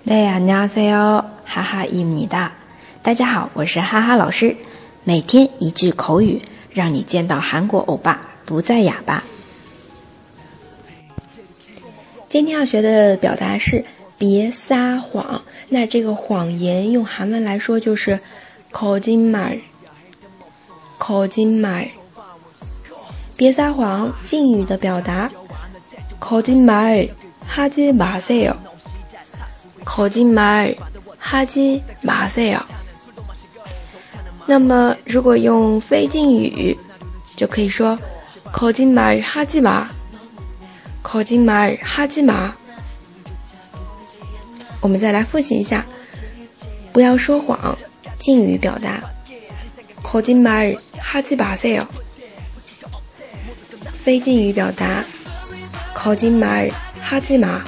네, 안녕하세요. 하하입니다. 大家好，我是哈哈老师。每天一句口语，让你见到韩国欧巴不再哑巴。今天要学的表达是别撒谎。那这个谎言用韩文来说就是거짓말。别撒谎，敬语的表达거짓말 하지 마세요。거짓말 하지 마세요。那么如果用非敬语，就可以说거짓말 하지 마。거짓말 하지 마。我们再来复习一下，不要说谎，敬语表达거짓말 하지 마세요。非敬语表达거짓말 하지 마。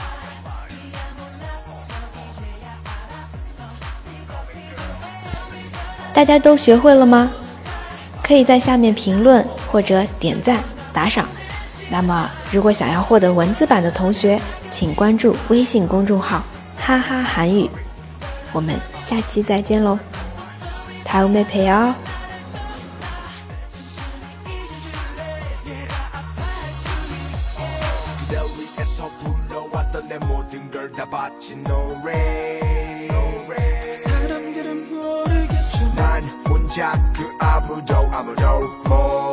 大家都学会了吗？可以在下面评论或者点赞打赏。那么如果想要获得文字版的同学，请关注微信公众号哈哈韩语。我们下期再见喽，다음에 봬요。 난 혼자 그 아무도